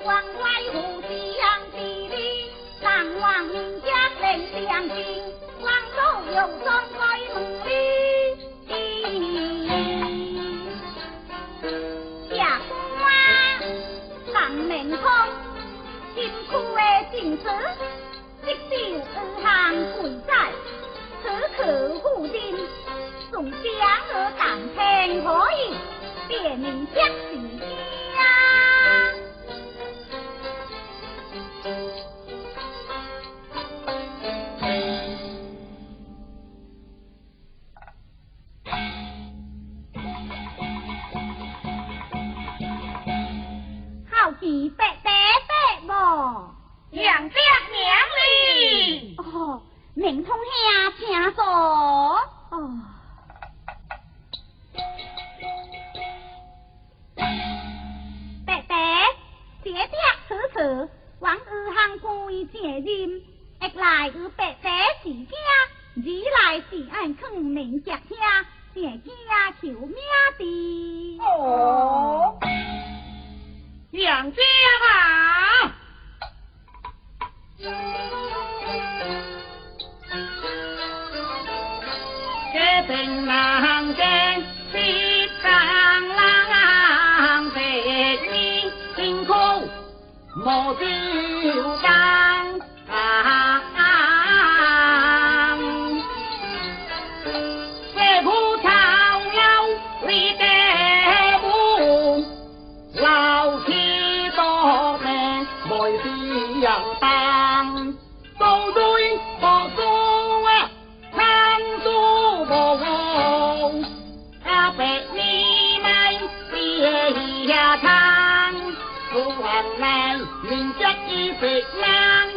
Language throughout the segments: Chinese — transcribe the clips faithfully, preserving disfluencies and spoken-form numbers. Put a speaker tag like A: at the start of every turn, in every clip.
A: 王怪互相地理，三王人家领相亲，王祖有双开门里。下官人明通，辛苦的进士，一手二行贵在，此刻护定，送将而当天可以，别名将士家。好奇白白白无，
B: 杨家娘哩。
A: 哦，明通兄请坐。哦。白白，这点此次往二行贵接任，一来与白白是家，二来是按坑明脚下，这家求命的。
B: 哦，杨家啊！这定南京西上郎白衣辛苦莫就当这苦草腰里的木老天多命每是人当都对莫做啊参数无用阿白你们别下汤不恨来明着一别人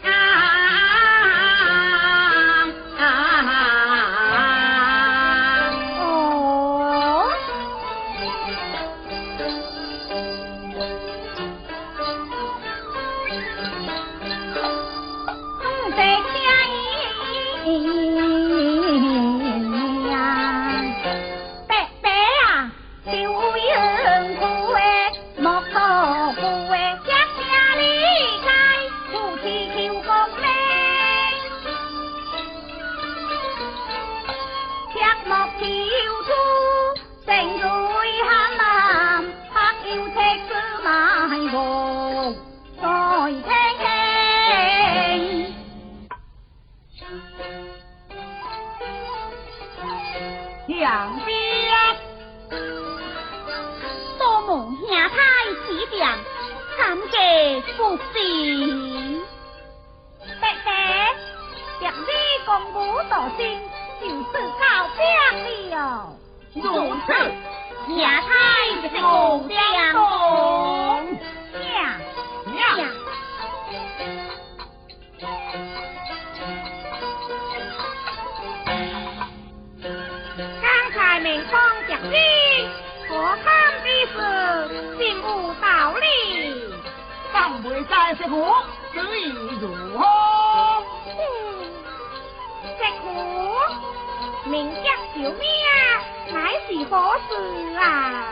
B: 杨家多蒙兄台指点，参加不是白白若你公武道心，就是高兵了。如此，兄台就相同。呀呀！明方讲理，可看之事并无道理。方未在石虎，所以如何？石虎，名叫小命，乃是何事啊？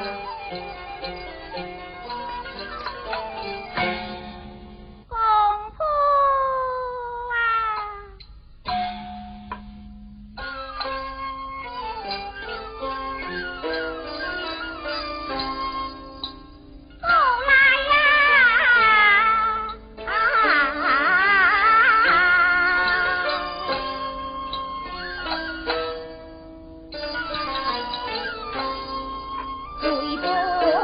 B: 公婆啊！对不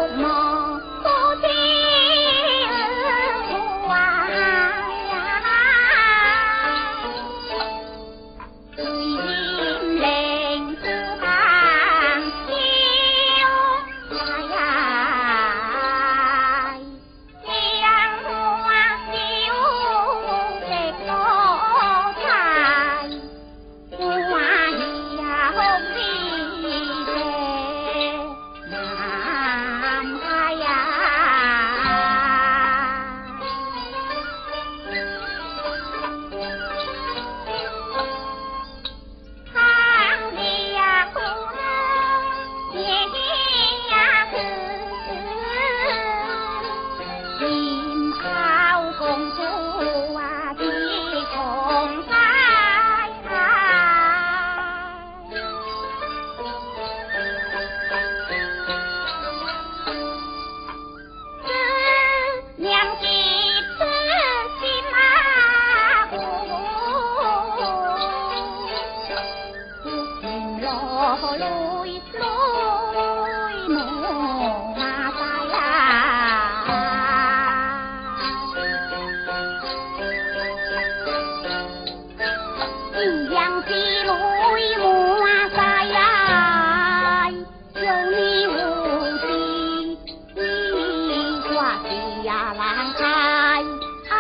A: 呀郎哎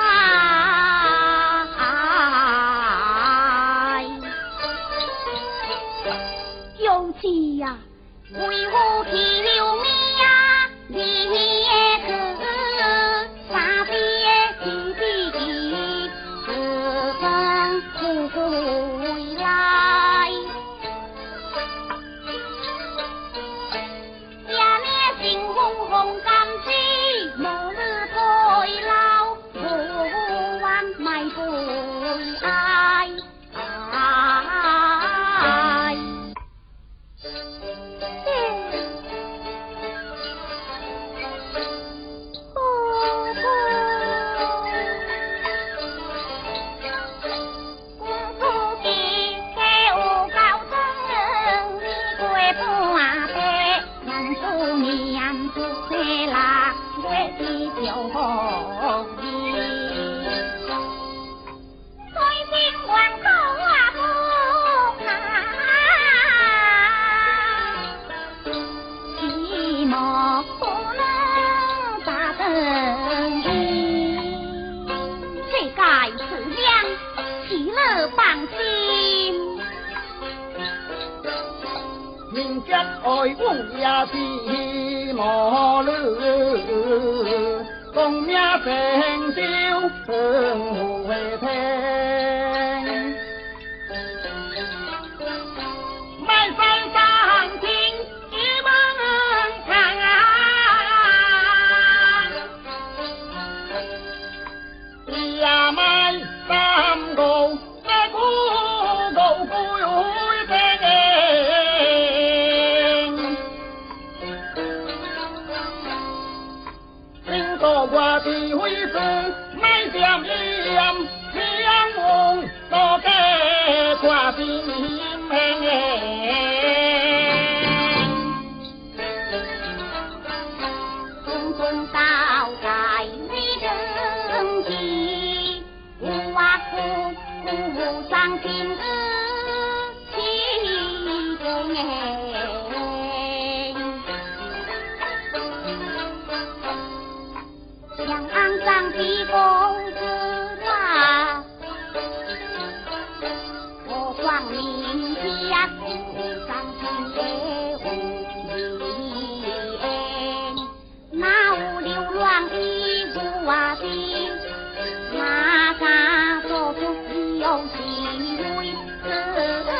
A: 哎，尤其呀，为何去了命呀？你也可傻逼弟弟，此生不回来。呀你心红红甘之，无日退老，不忘埋悔爱爱。
B: 爱我也是无路，功名成就成回听。满山上听一门唱，也满山高那古高古我的回事买点盐，两梦都给挂心门。匆匆到在你人际，无话苦苦伤心起中哎。肮脏的公子啊，我光明家苦伤心的无言，那无流浪的无啊的，那啥做出有心为自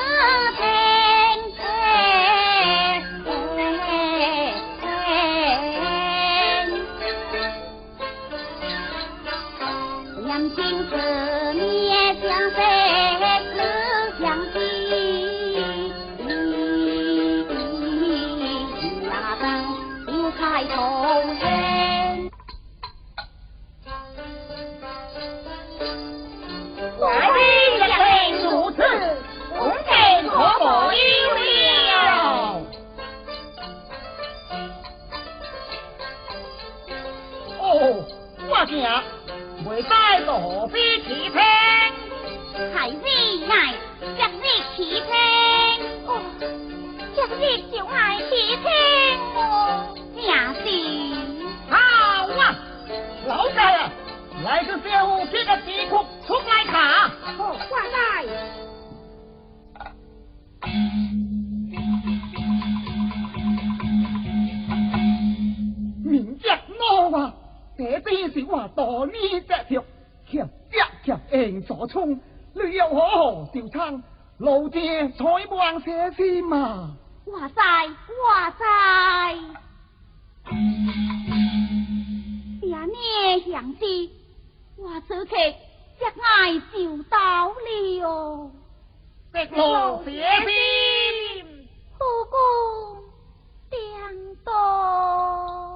B: 未带到何必起听？
A: 还为爱昨日起听，哦，昨日就爱起听哦，也是。
B: 好啊，老大啊，来个小虎这个地库出来卡。
A: 哦，挂来。
B: 明日我啊！这边是我大呢只条，强一强硬所冲，旅游好好小餐，路借采望些先嘛。
A: 哇塞，哇塞！呀呢想知，我此刻一爱就到了。
B: 直路些先，
A: 不公颠倒。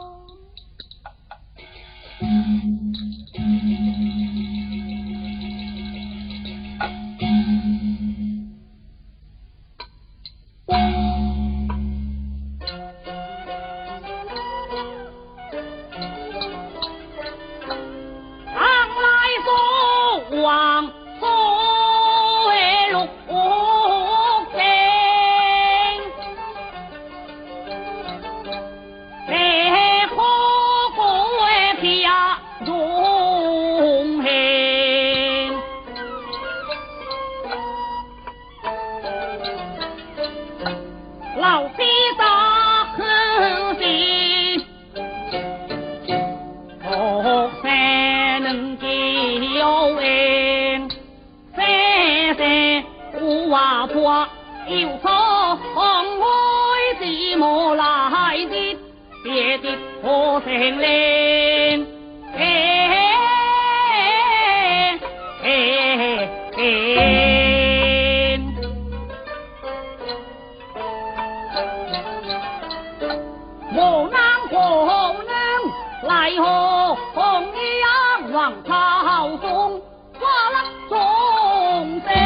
B: 王府六京， 就错红灰寂寞来的，别的可成灵。嘿嘿嘿，我能可能来和红阳王朝中花了众生。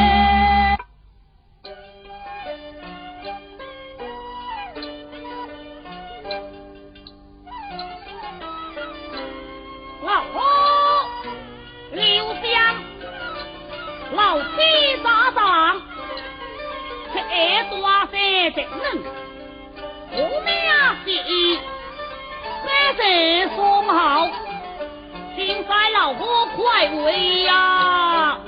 B: 老夫刘香老七打仗，却爱多些责任，我命是三十双好，请在老夫快回呀！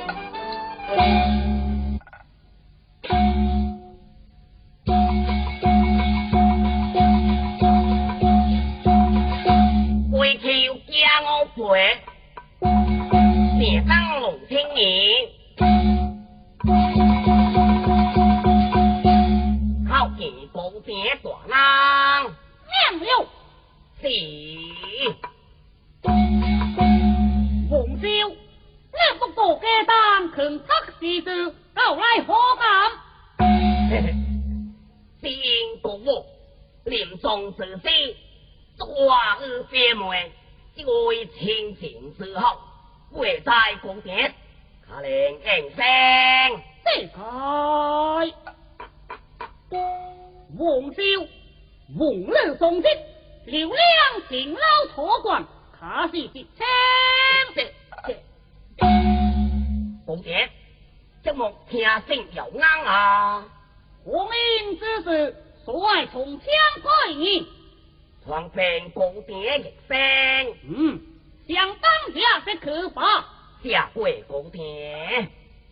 B: 回头家我陪，别当龙青年。靠近宝殿大郎，
A: 娘了，
B: 是洪少，你不过家当肯得事事，后来可敢？先公我临终时时，大恩姐妹，一位亲情之后，贵在宫殿，可能应声这开。王少，王女送职，刘亮勤劳托管，可是直称。这这，宫殿，这幕听声又啱啊！皇命之事，所爱从枪开你，传遍宫殿一声。嗯，相当下的可怕，下跪宫殿。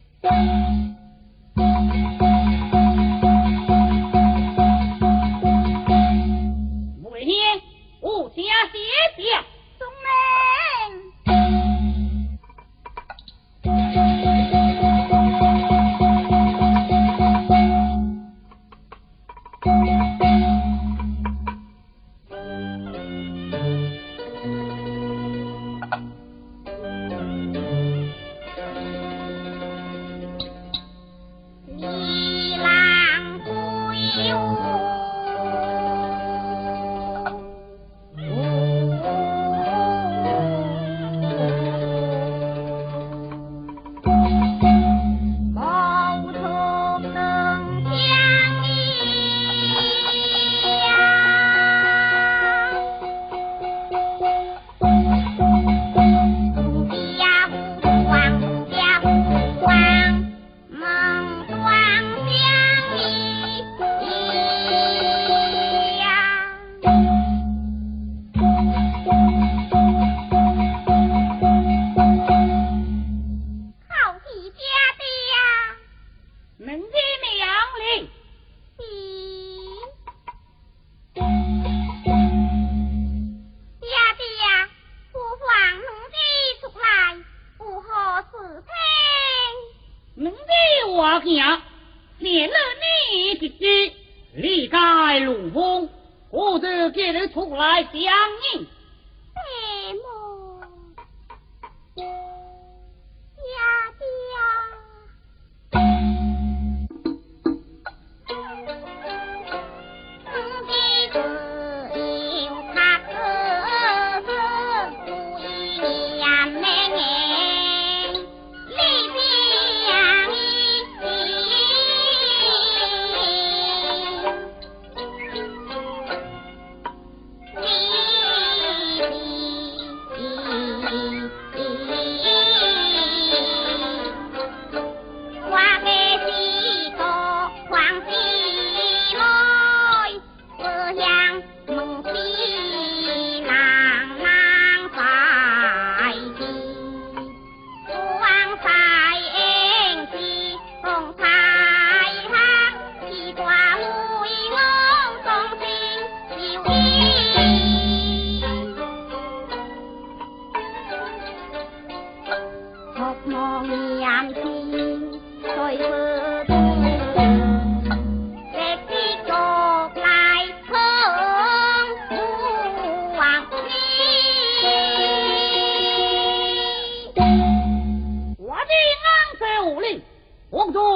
B: 为何无家姐姐？
A: 宗妹。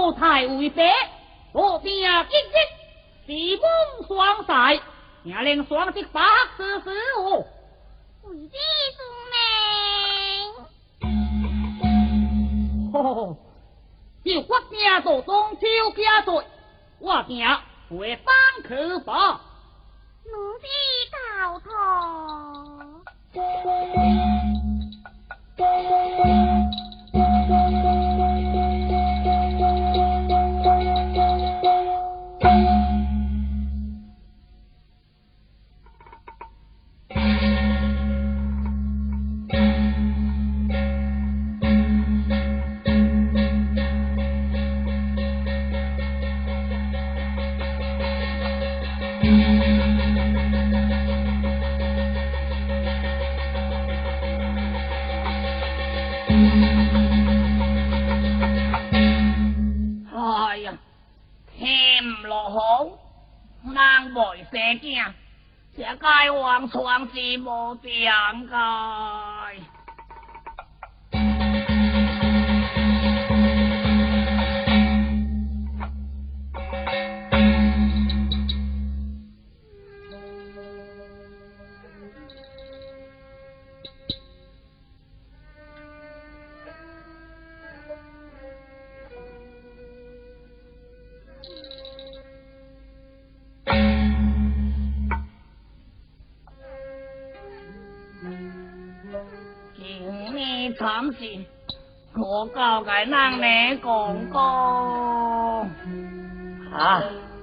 B: 老太为爹，我拼积极，是梦双赛，也令双击百事事哦。
A: 为弟父命。
B: 吼！就我惊做中秋家罪，我惊会当去吧。
A: 奴婢告脱。
B: 哎呀，天唔落雨，人袂生惊，这该往床是无定该。惨事，我教给人你讲讲啊！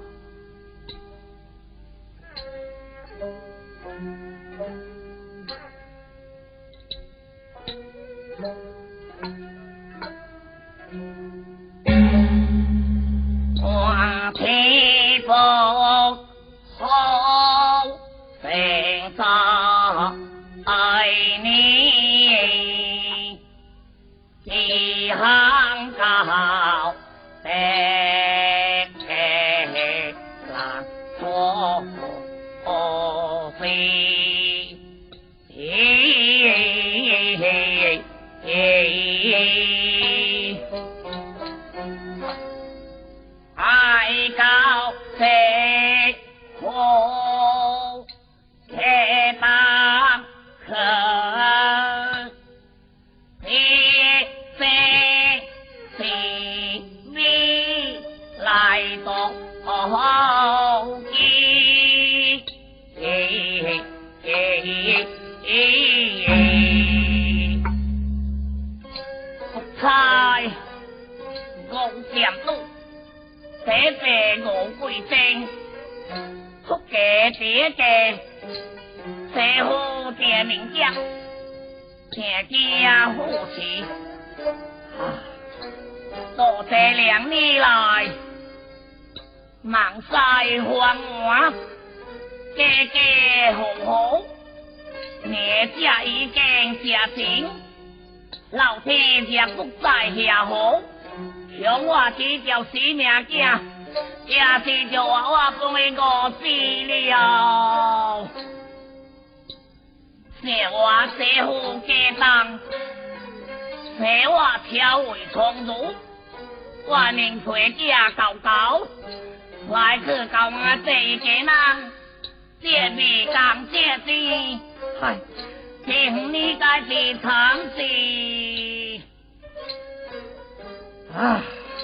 B: 我披风好成扎爱你，一行高的蓝错飞，爱高飞火开大可。来到后记，猜我咸路，这辈我贵正，出家爹家，这好爹名将，天家夫妻。多这两年来，忙晒繁华，家家户户，孽家已经家庭，老天爷不在下好，让我只条死命囝，也是就话我讲的我死了，是我这副家当，是我挑为从容。我宁陪家狗狗，来去搞我这一家人，这味讲这事，嗨，听你该是常事啊。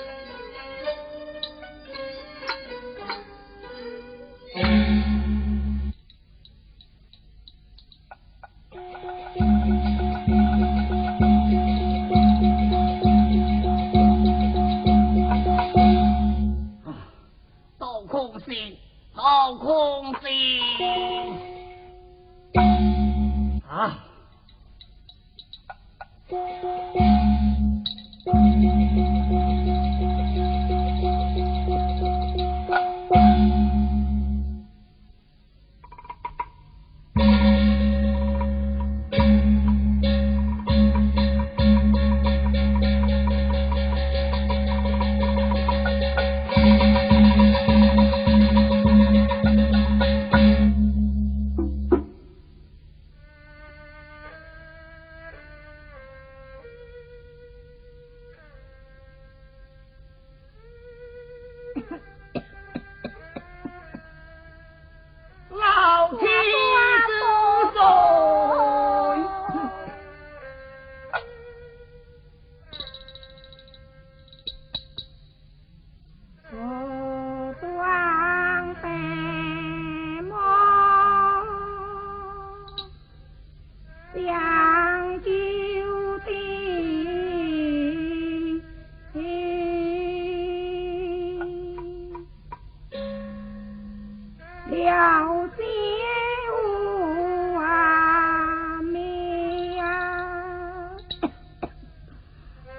B: 好空心啊！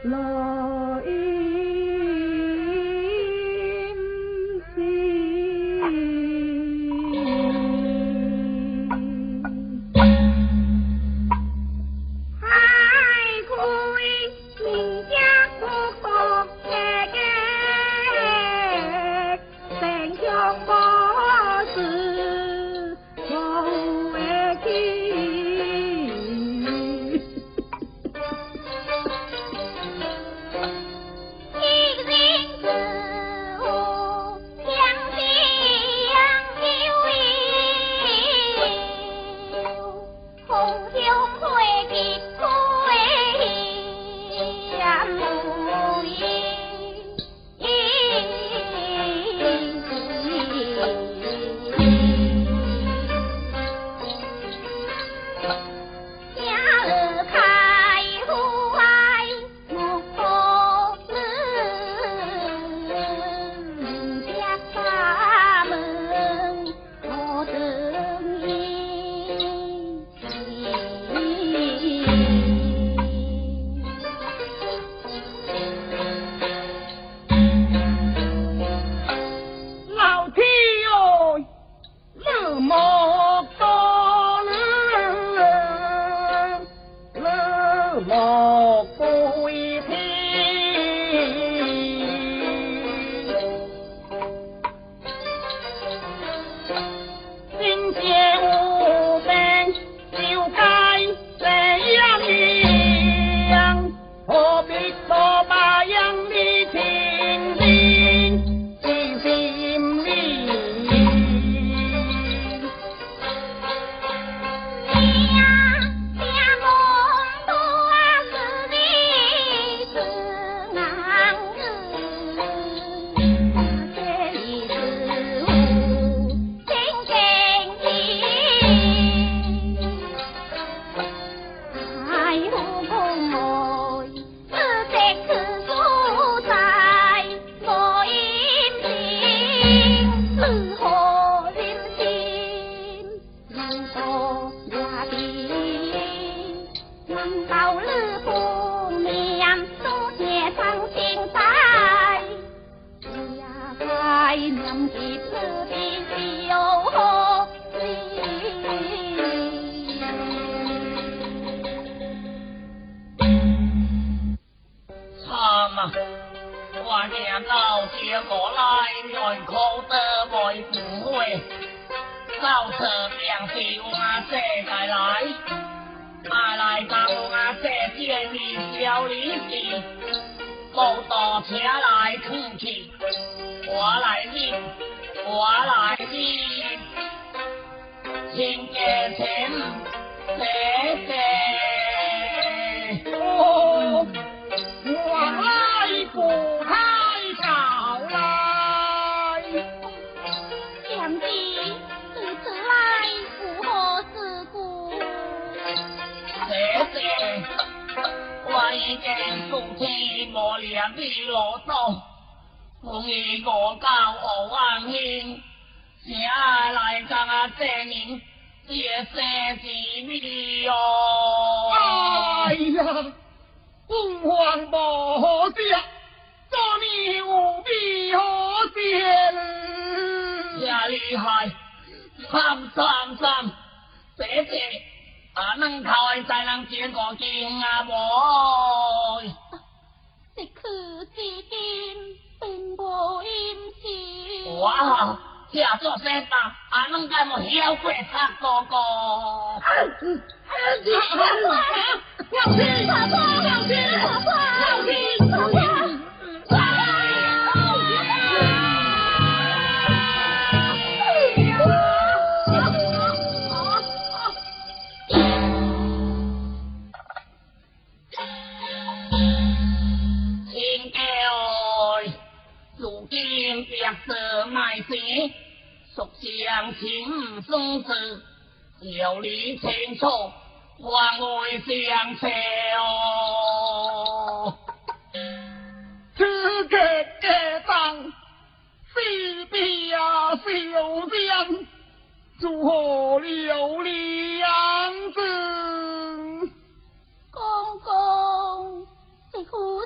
A: 公公，这苦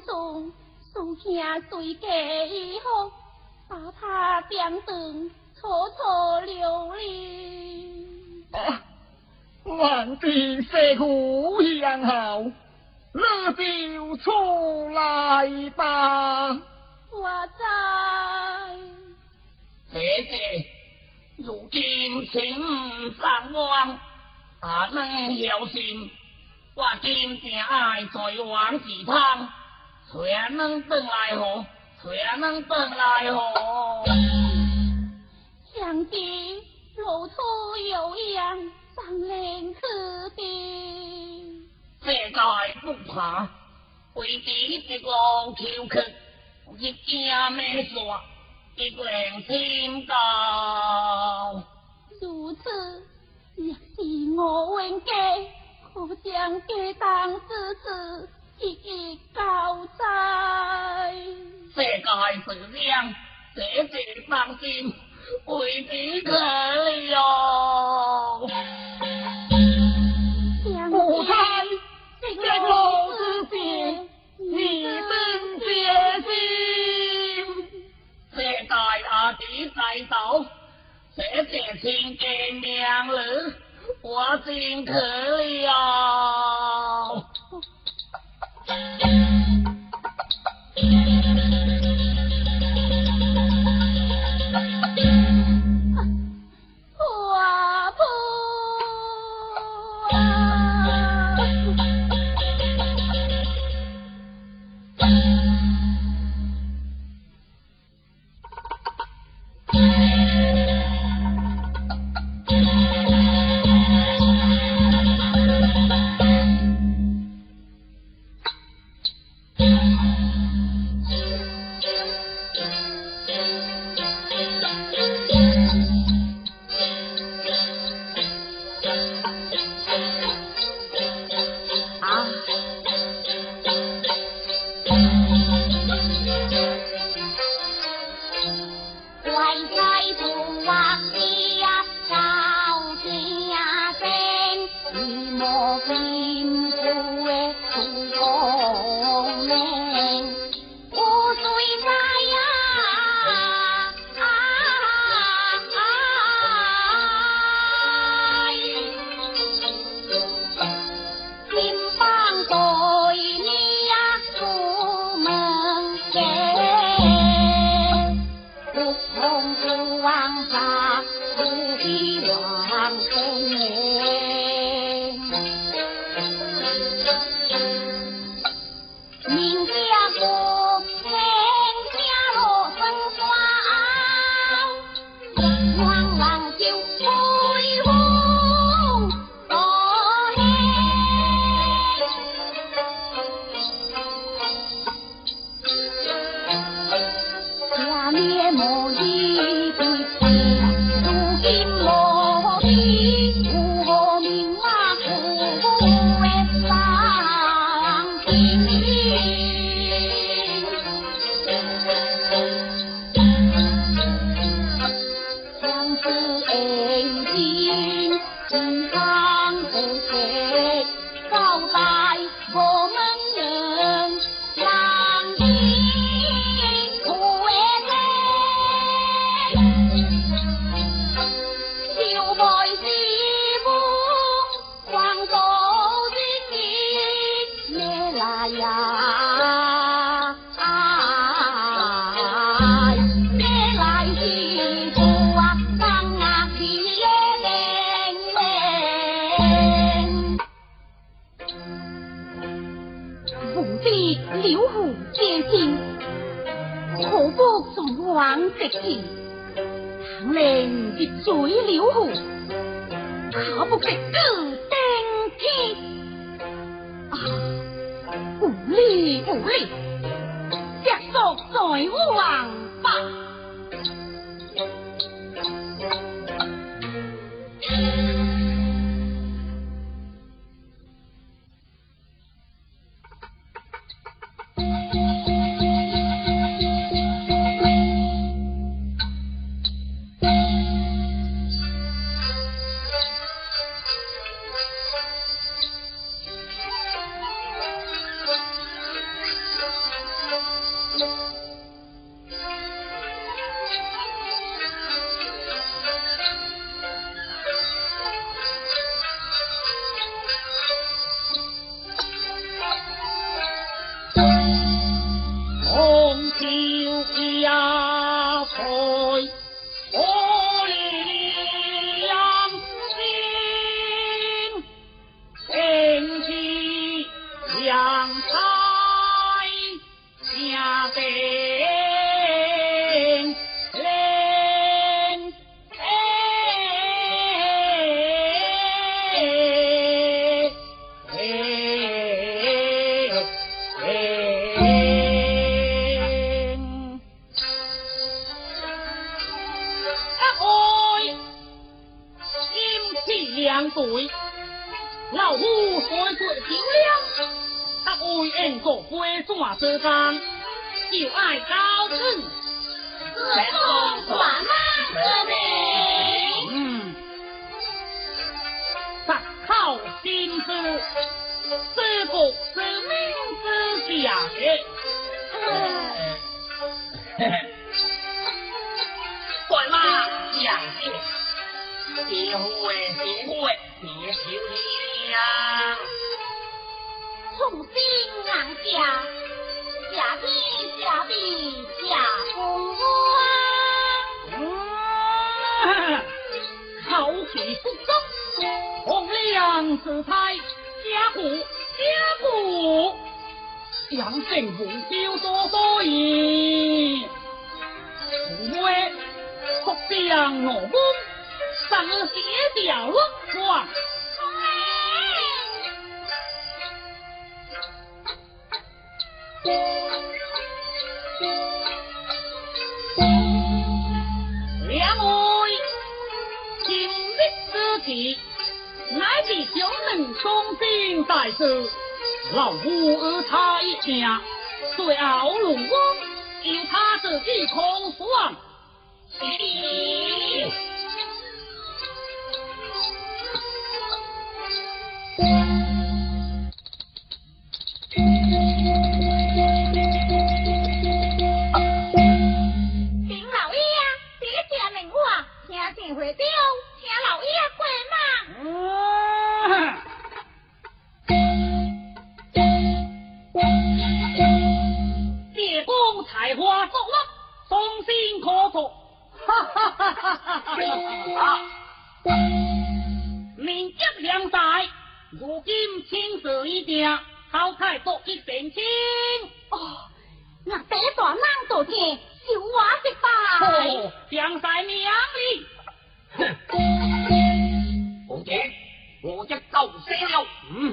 A: 中，送兄随家以后，把他变成楚楚流离。
B: 啊，万的师傅相好，你就出来吧。
A: 我在。
B: 姐姐，如今情上岸，阿能小心。我今正爱在往几趟，谁能回来何？谁能回来何？
A: 想必路途有样，上人此地。
B: 世界不怕，为敌一路求去，一件没煞，一人天高。
A: 如此，若是我问家。可将家当之事一一交代。
B: 世界是亮，姐姐放心，为你可了。不猜这路之间，你真决心。世界阿弟在手，姐姐亲见娘儿。我真可了。
A: 婆婆
B: 红袖压翠，我良心，天机良才下定。对，老夫岁岁漂亮，他为恩国归转之间，就爱高兴，自奉传马之名。嗯，实靠心思，这个是明之家的。快马将士，结会结会。别求你呀！
A: 从心硬下，下地下地下公王。
B: 嗯，好气不争，洪亮自太家父家父，杨政府就所所言，除非国将我公。上邪掉落光，两位今日之计，乃是小人忠心大事，老夫与他一家，对傲龙王，由他自己空算。
A: 会丢，请老爷过
B: 嘛。叶公才华作乐，忠心可作，哈哈哈哈哈哈！名节良才，如今青史一定，好太做一点清。
A: 哦，那这大人做见，就我一拜。
B: 哦，将在名里。哼！我姐，我一够死了。嗯。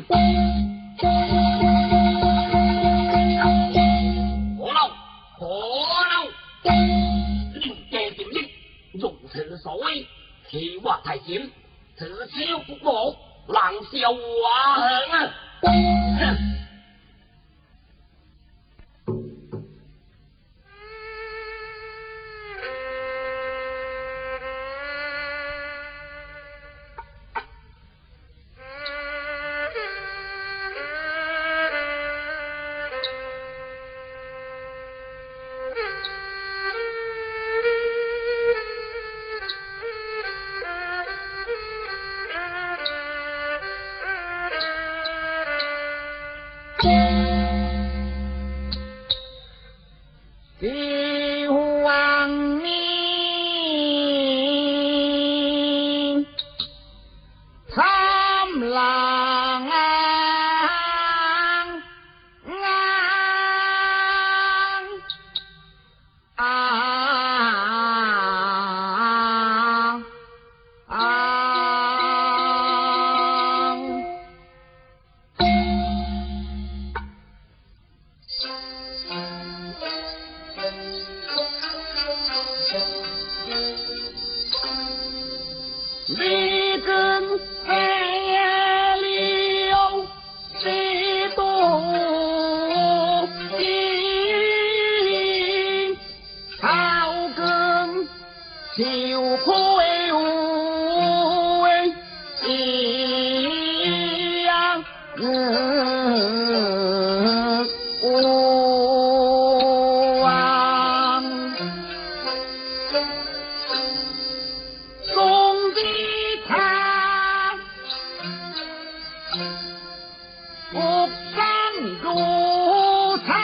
B: 可嬲，可嬲！六借點益，用此所謂，其話太險，此超不我，冷笑話響啊！帝王命，参郎啊你跟黑了几多情，草根就愧无一样人无望。送的他不上如常。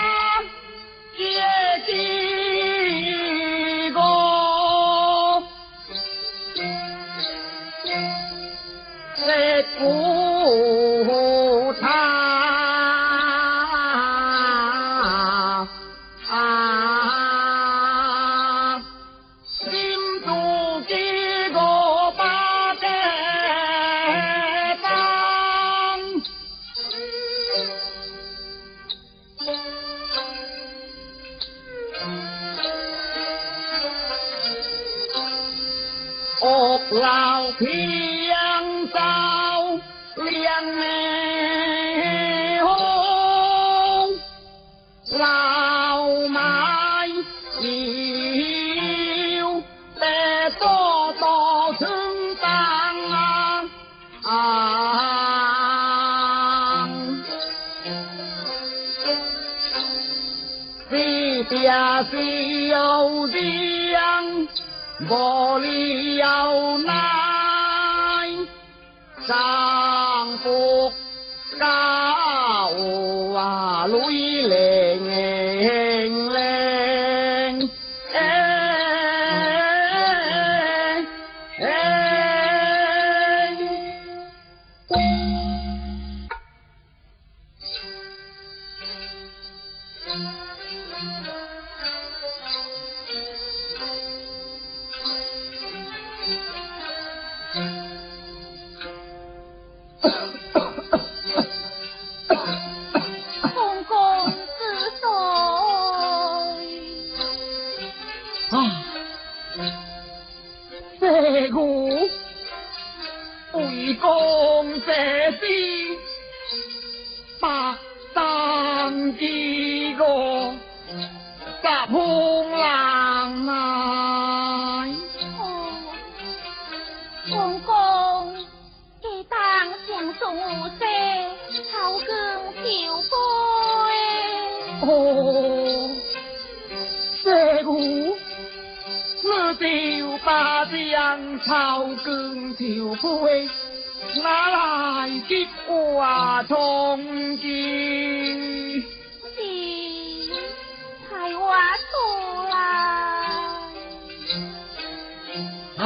B: 老天造两红，老麦有得多多成长啊！地下是有量，无里有奈，丈夫高啊女零零，哎哎。
A: 公公之岁
B: 啊，这股为公这事，百当几个十空人来。
A: 哦，公公既当上素色，草根朝杯。
B: 哦，这股我就把将草根朝杯，拿来结话同志。
A: 是太话出来。
B: 啊！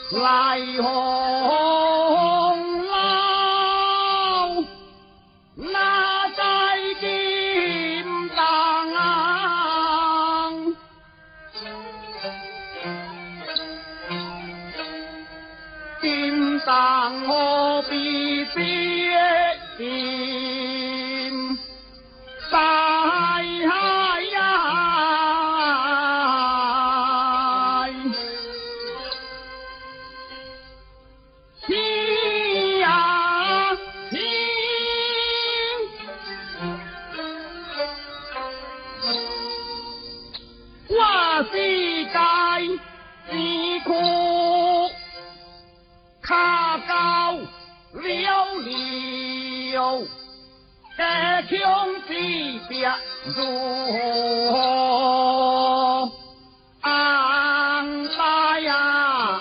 B: 来红老，那在金当，金当何必别金在海呀？世界之苦，卡高了了，家乡之别如何安排呀？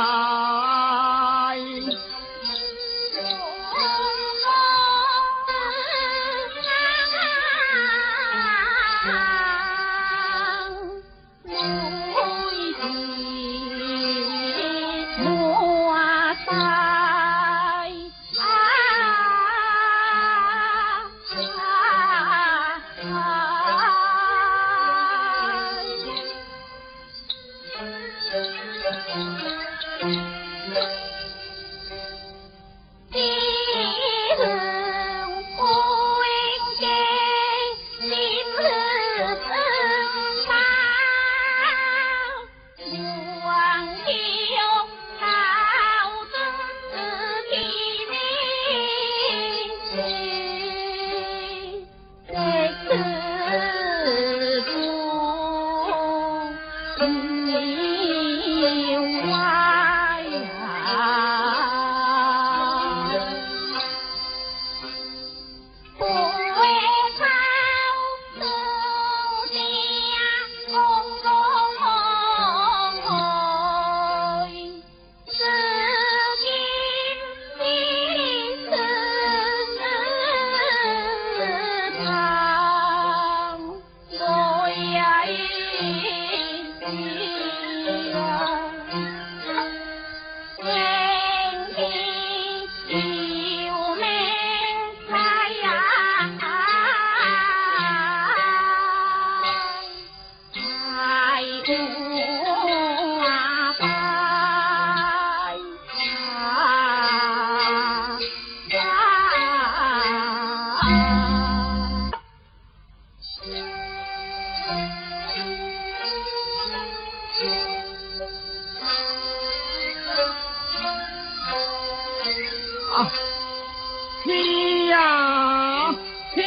B: 听呀听，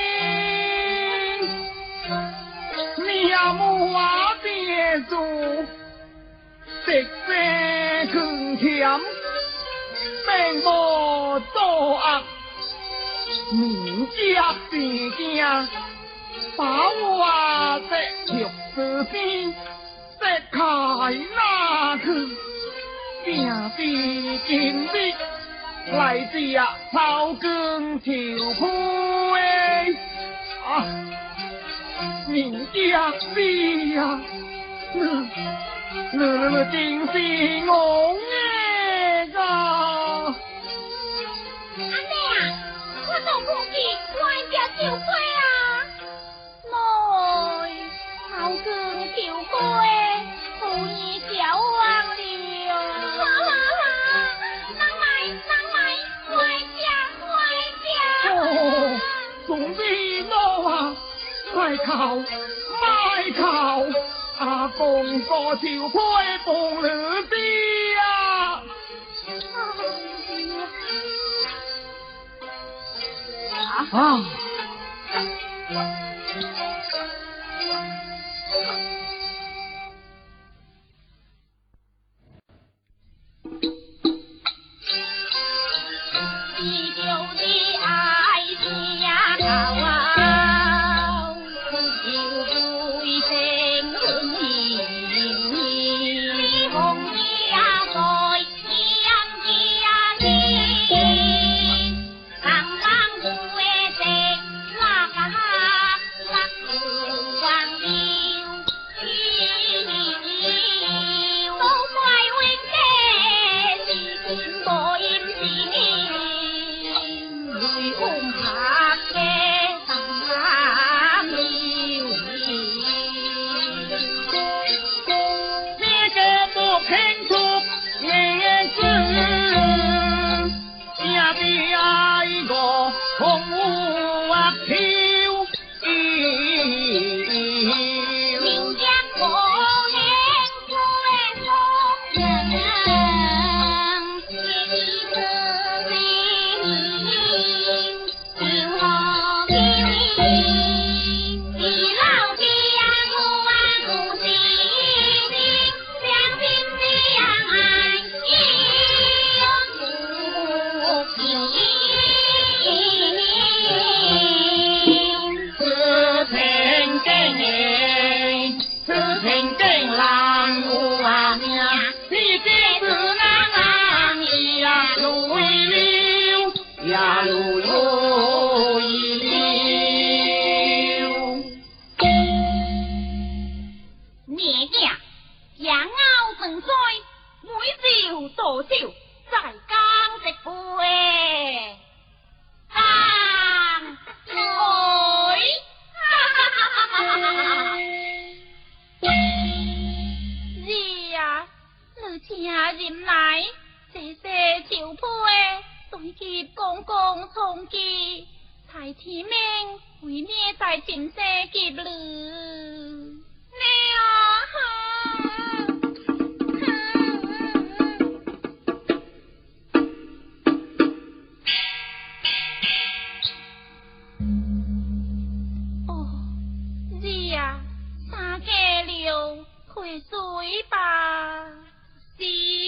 B: 母话别做，食色更甜，并无作恶，民家事件，把我的玉子边，石开那去，定是今日。来自啊草根条裤诶，啊，人家是呀，你你你真是我诶个。阿
A: 妹啊，我做空气，我只烧灰啊，妹，草根条裤诶，好易小忘了。
B: 总之我啊，卖靠卖靠，阿公个条灰放了啲啊！啊！
A: 地久的爱情呀，高啊，就对声红盈盈，红呀在阳家里，刚刚不会在那个
B: 清楚也知，下边爱个空无啊飘。
A: 人家可怜苦的夫人，一个人就好比你老爹我啊不是你，两心相爱又不平。
B: 此情景，此情景难无啊命，你这是难呀路了呀路路了。
A: 孽家养傲成衰，每朝多少在江直背。当水，儿啊，你请人来，细细照配，对接公公从记，才天命为咩在前世劫了？你啊！退水吧，是。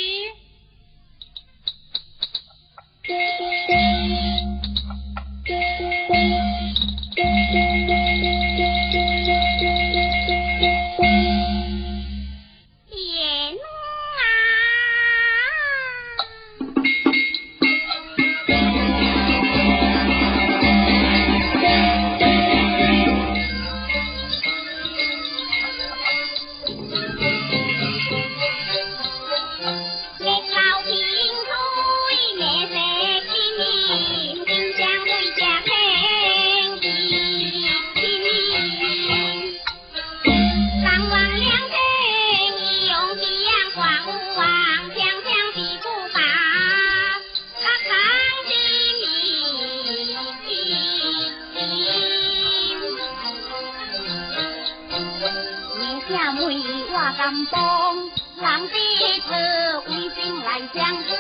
A: 甘帮人的子为心来相知，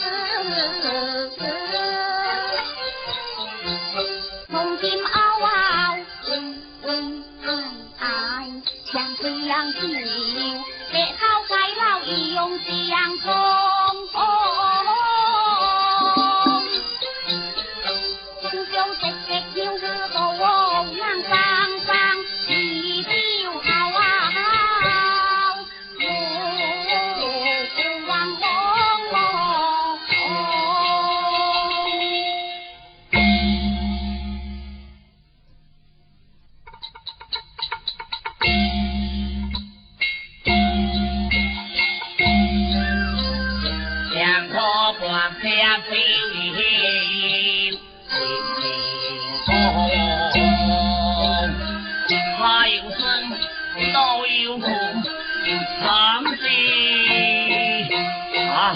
A: 从今嗷嗷为爱强推让气，别好该老义用相冲，兄兄直直要日到旺人生生一朝嗷嗷。
B: 下飞为风，花有生，道有苦，长飞啊！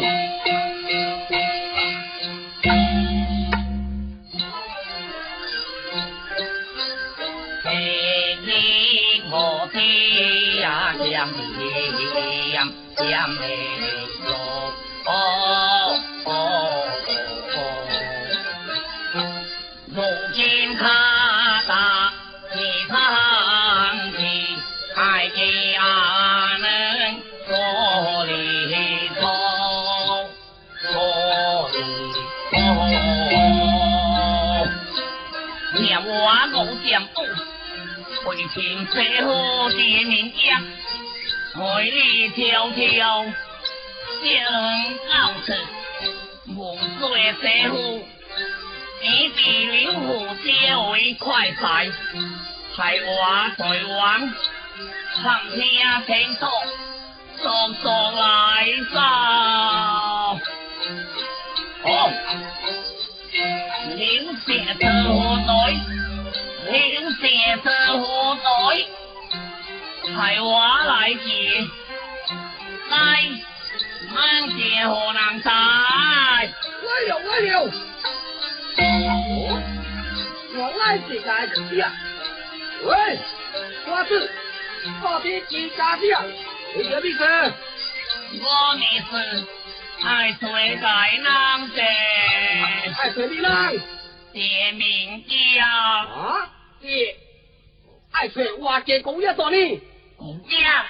B: 嘿嘿，我的呀，江的呀，江的哟，哦。哦哦，如今他打你堂的爱家人说里头，说里头，念我老江东，回听最后的名将，美丽迢迢，正傲视。梦醉社户，你比刘虎皆为快哉，害我在王，唱天听道，速速来烧。哦，刘社车虎隊，劉社車虎隊，係我嚟自，來是何人在？
C: 来了来了！哦，原来是大师啊！喂，瓜子，到底几家子啊？你什么意思？
B: 我意思，爱谁大人者？
C: 爱谁的人？
B: 谢明家。
C: 啊？谢。爱谁话嘅讲一段呢？
B: 公家。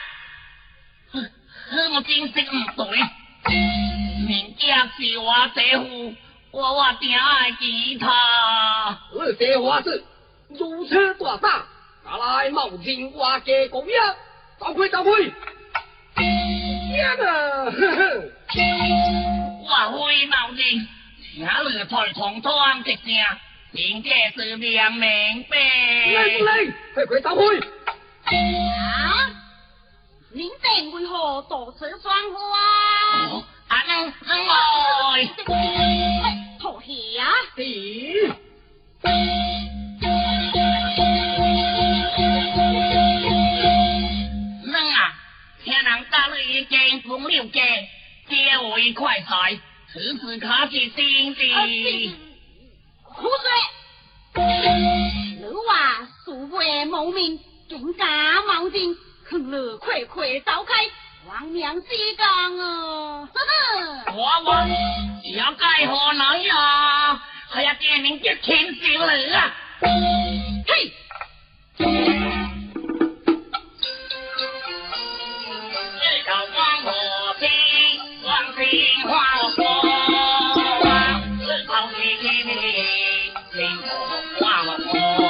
B: 我真识唔对，明家是我姐夫，我我定爱记他。
C: 你这话是如此大胆，拿来冒进我嘅公爷，走开走开！天啊！呵呵，
B: 我非冒进，哪里才从窗一声，明家是两明白。
C: 来不来？快快走开！
A: 啊！您这为何多此双花啊？
B: 啊，能能来，
A: 妥协啊！
C: 咦？
B: 能啊，听人家里经风流家，皆为快财，此事可是真的。
A: 苦水！你话素未谋面，更加冒进。坑了，快快走开！亡命之gang啊！真
B: 我我要该何来呀？还要点名接天小了啊！
A: 嘿！
B: 日头光和天，光天化火，日头起起起，天火化火。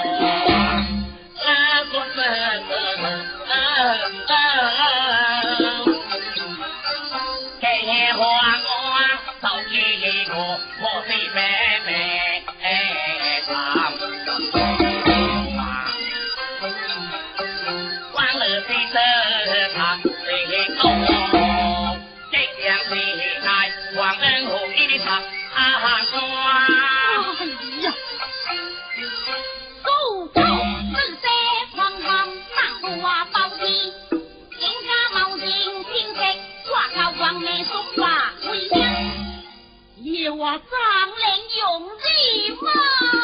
B: 我是妹妹唱，完了的这场的歌，这样的爱，忘恩负义的唱啊瓜。
A: 哎呀，走走，四色黄黄，大花包皮，人家冒进天色，挂高王妹说话为娘。要我张脸用计吗？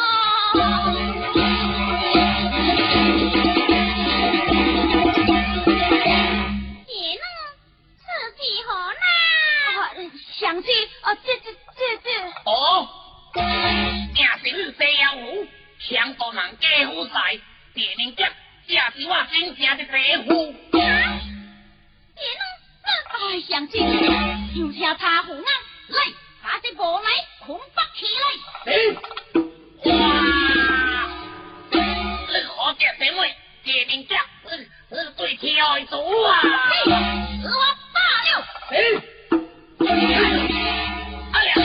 A: 你呢？是几何呢？想起啊，这这这这。
B: 哦，正是西洋舞，强多人家夫婿，别人家这是我真正的姐夫。
A: 啊？你呢？哎，想起有车茶壶啊，来。把这波来捆绑起来！
B: 哎，哇！你何家姐妹，姐名家，你你对天爱主啊！
A: 是我罢了。
C: 哎，
B: 哎呀！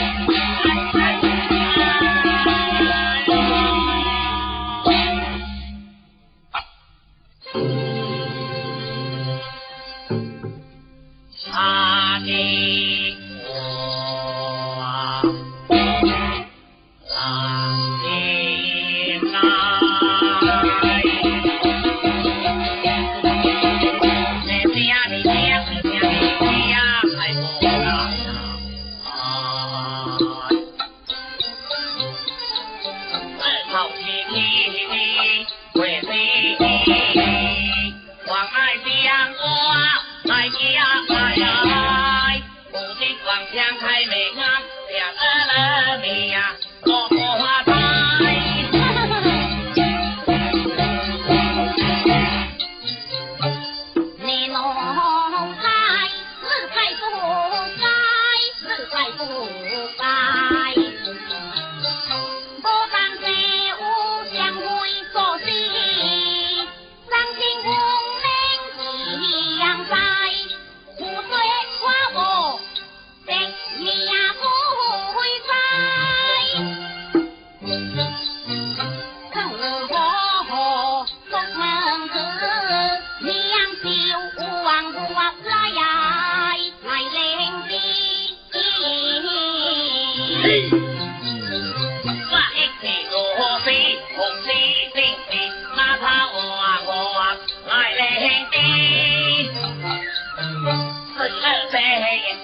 B: 阿弟。
A: 你呀不会在。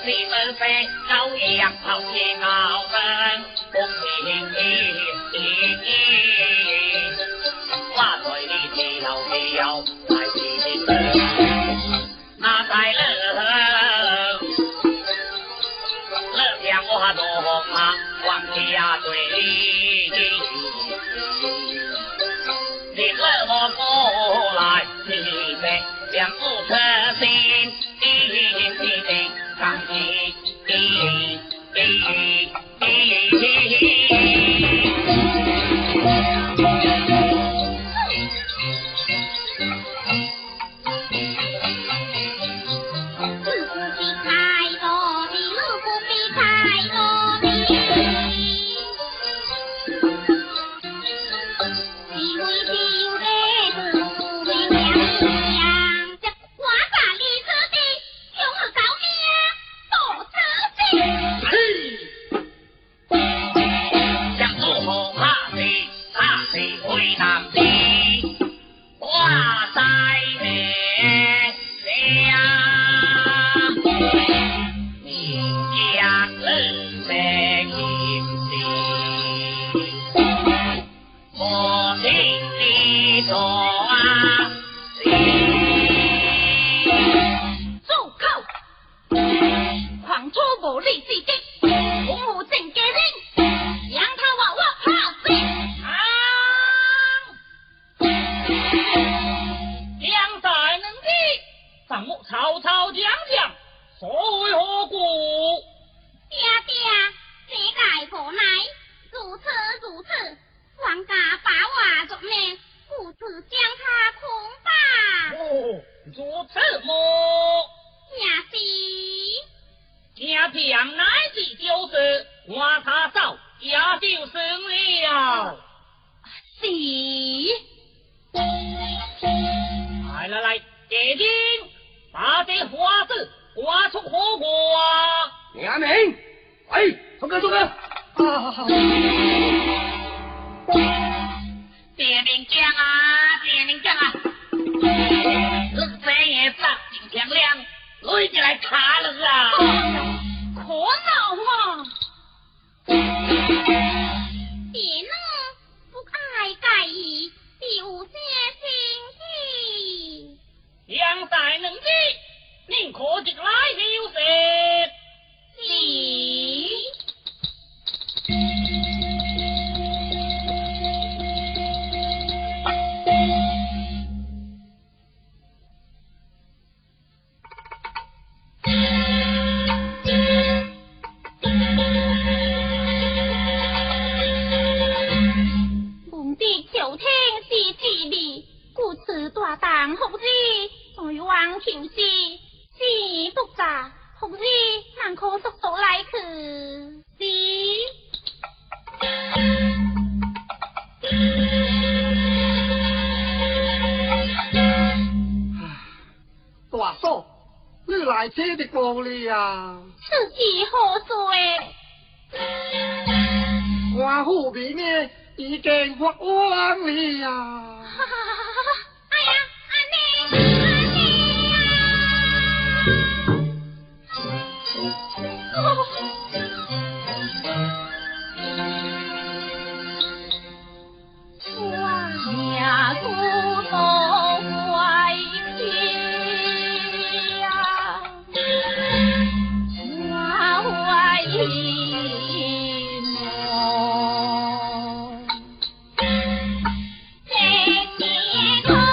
B: 你们飞高阳跑天高人，公平义，我对你跳跳来天乐，那在乐，乐将我动啊，往家对你，你乐我过来，你们将不可心。上起，
A: 天天空。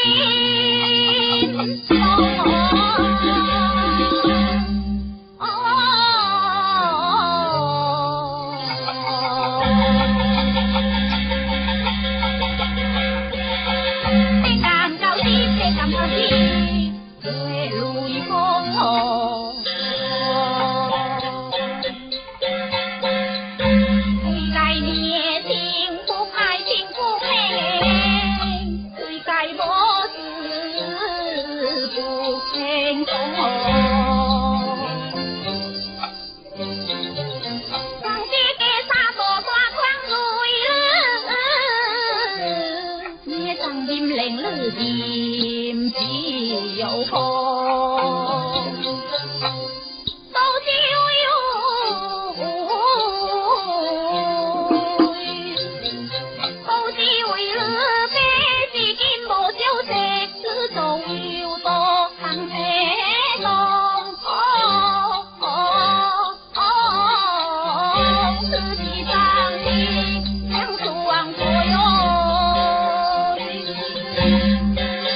A: 哦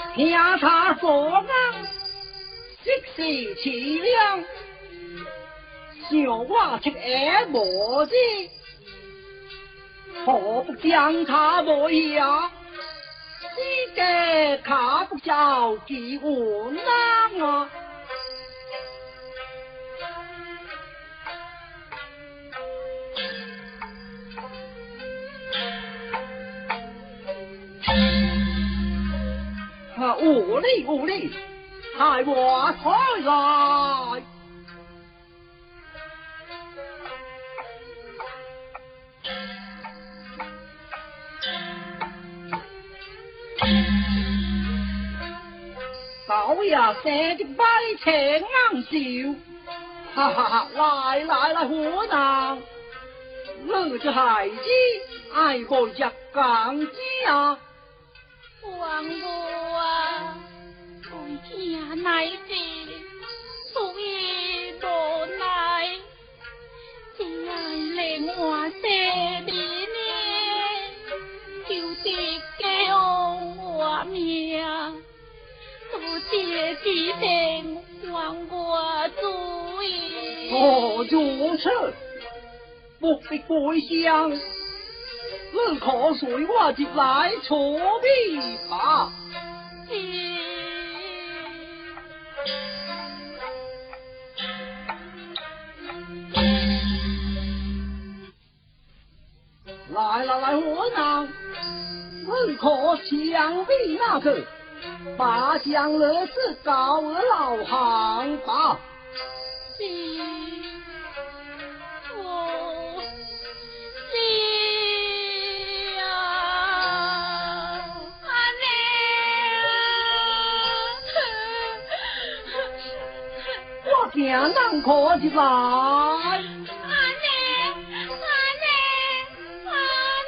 C: 听他说啊，即是凄凉，小我出耳无知，何不将他落下？世界卡不着几无难啊！啊，无理无理，害我开来！老爷生的百情硬笑，哈哈哈！来来来，伙郎，我这孩子爱过只港家。
A: 王母啊，为天乃是属于无奈，只爱令我生的呢，就是给我命，多谢启禀还我主意。
C: 哦，如此，不必归乡。你可随我进来处理吧。来来来，伙郎，你可想必那个，把将儿子告而老行吧。
A: 是，我是。
C: 行人可进来。
A: 阿妹，阿妹，阿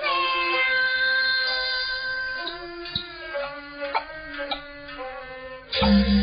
A: 妹啊！